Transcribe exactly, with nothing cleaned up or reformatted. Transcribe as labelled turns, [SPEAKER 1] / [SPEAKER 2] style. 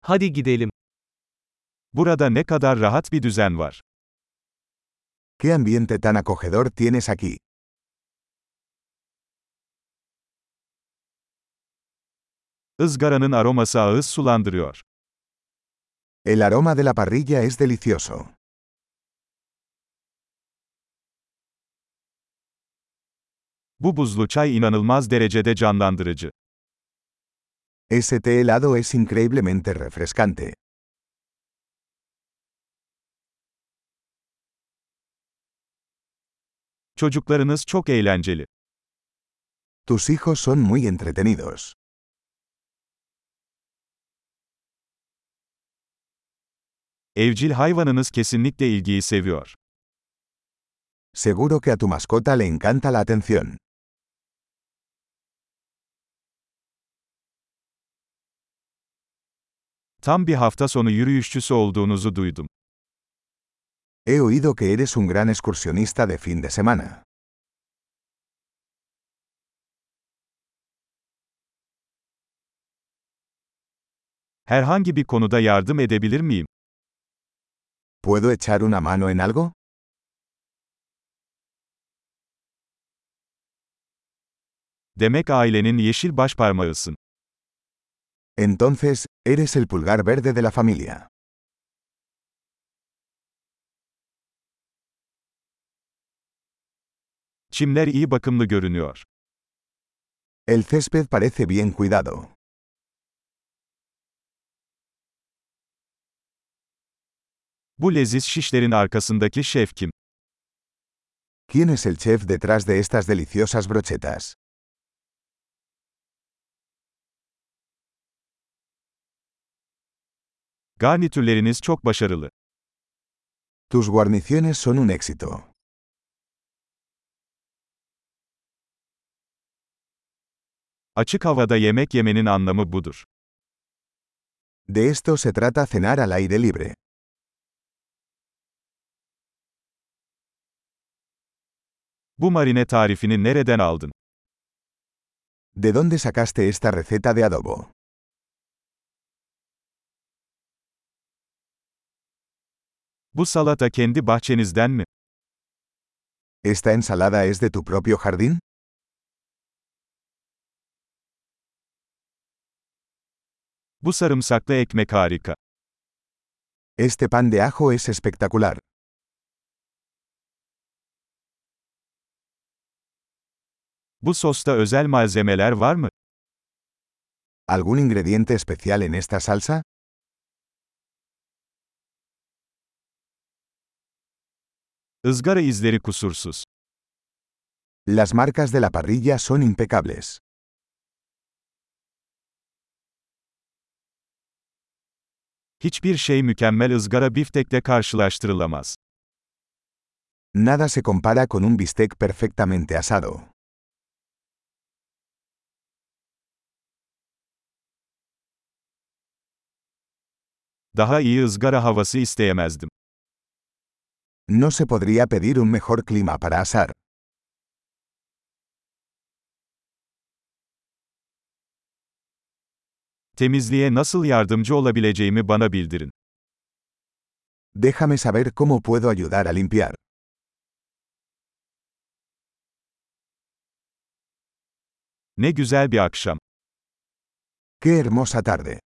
[SPEAKER 1] Hadi gidelim.
[SPEAKER 2] Burada ne kadar rahat bir düzen var.
[SPEAKER 3] ¿Qué ambiente tan acogedor tienes aquí?
[SPEAKER 2] Izgaranın aroması ağız sulandırıyor.
[SPEAKER 3] El aroma de la parrilla es delicioso.
[SPEAKER 2] Bu buzlu çay inanılmaz derecede canlandırıcı.
[SPEAKER 3] Ese té helado es increíblemente refrescante.
[SPEAKER 2] Çocuklarınız çok eğlenceli.
[SPEAKER 3] Tus hijos son muy entretenidos.
[SPEAKER 2] Evcil hayvanınız kesinlikle ilgiyi seviyor.
[SPEAKER 3] Seguro que a tu mascota le encanta la atención.
[SPEAKER 2] Tam bir hafta sonu yürüyüşçüsü olduğunuzu duydum.
[SPEAKER 3] He oído que eres un gran excursionista de fin de semana.
[SPEAKER 2] Herhangi bir konuda yardım edebilir miyim?
[SPEAKER 3] ¿Puedo echar una mano en algo?
[SPEAKER 2] Demek ailenin yeşil başparmağısın.
[SPEAKER 3] Entonces, eres el pulgar verde de la familia.
[SPEAKER 2] Çimler iyi bakımlı görünüyor.
[SPEAKER 3] El césped parece bien cuidado.
[SPEAKER 2] Bu leziz şişlerin arkasındaki şef kim?
[SPEAKER 3] ¿Quién es el chef detrás de estas deliciosas brochetas?
[SPEAKER 2] Garnitürleriniz çok başarılı.
[SPEAKER 3] Tus guarniciones son un éxito.
[SPEAKER 2] Açık havada yemek yemenin anlamı budur.
[SPEAKER 3] De esto se trata cenar al aire libre.
[SPEAKER 2] Bu marine tarifini nereden aldın?
[SPEAKER 3] ¿De dónde sacaste esta receta de adobo?
[SPEAKER 2] Bu salata kendi bahçenizden mi?
[SPEAKER 3] ¿Esta ensalada es de tu propio jardín?
[SPEAKER 2] Bu sarımsaklı ekmek harika.
[SPEAKER 3] Este pan de ajo es espectacular.
[SPEAKER 2] Bu sosta özel malzemeler var mı?
[SPEAKER 3] ¿Algún ingrediente especial en esta salsa?
[SPEAKER 2] Izgara izleri kusursuz.
[SPEAKER 3] Las marcas de la parrilla son impecables.
[SPEAKER 2] Hiçbir şey mükemmel ızgara biftekle karşılaştırılamaz.
[SPEAKER 3] Nada se compara con un bistec perfectamente asado.
[SPEAKER 2] Daha iyi ızgara havası isteyemezdim.
[SPEAKER 3] No se podría pedir un mejor clima para asar.
[SPEAKER 2] Temizliğe nasıl yardımcı olabileceğimi bana bildirin.
[SPEAKER 3] Déjame saber cómo puedo ayudar a limpiar.
[SPEAKER 2] Ne güzel bir akşam.
[SPEAKER 3] ¡Qué hermosa tarde!